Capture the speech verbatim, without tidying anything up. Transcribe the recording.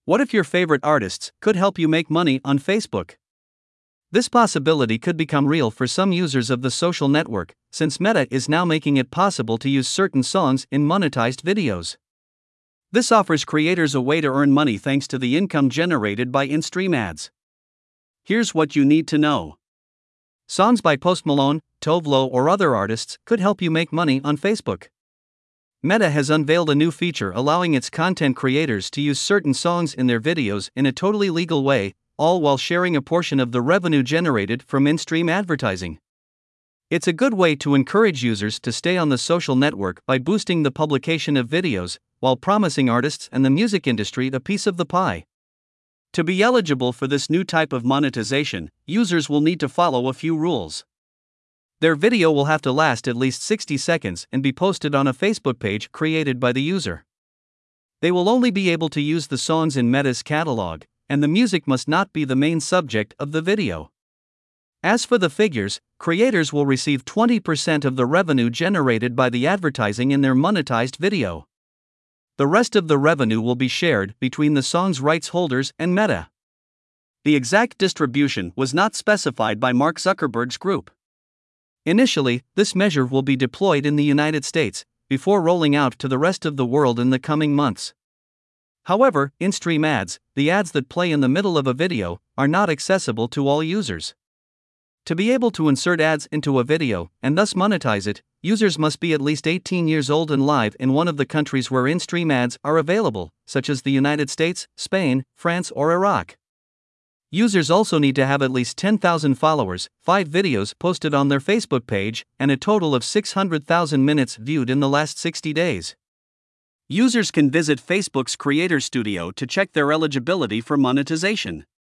What if your favorite artists could help you make money on Facebook? This possibility could become real for some users of the social network, since Meta is now making it possible to use certain songs in monetized videos. This offers creators a way to earn money thanks to the income generated by in-stream ads. Here's what you need to know. Songs by Post Malone, Tove Lo, or other artists could help you make money on Facebook. Meta has unveiled a new feature allowing its content creators to use certain songs in their videos in a totally legal way, all while sharing a portion of the revenue generated from in-stream advertising. It's a good way to encourage users to stay on the social network by boosting the publication of videos, while promising artists and the music industry a piece of the pie. To be eligible for this new type of monetization, users will need to follow a few rules. Their video will have to last at least sixty seconds and be posted on a Facebook page created by the user. They will only be able to use the songs in Meta's catalog, and the music must not be the main subject of the video. As for the figures, creators will receive twenty percent of the revenue generated by the advertising in their monetized video. The rest of the revenue will be shared between the song's rights holders and Meta. The exact distribution was not specified by Mark Zuckerberg's group. Initially, this measure will be deployed in the United States, before rolling out to the rest of the world in the coming months. However, in-stream ads, the ads that play in the middle of a video, are not accessible to all users. To be able to insert ads into a video, and thus monetize it, users must be at least eighteen years old and live in one of the countries where in-stream ads are available, such as the United States, Spain, France, or Iraq. Users also need to have at least ten thousand followers, five videos posted on their Facebook page, and a total of six hundred thousand minutes viewed in the last sixty days. Users can visit Facebook's Creator Studio to check their eligibility for monetization.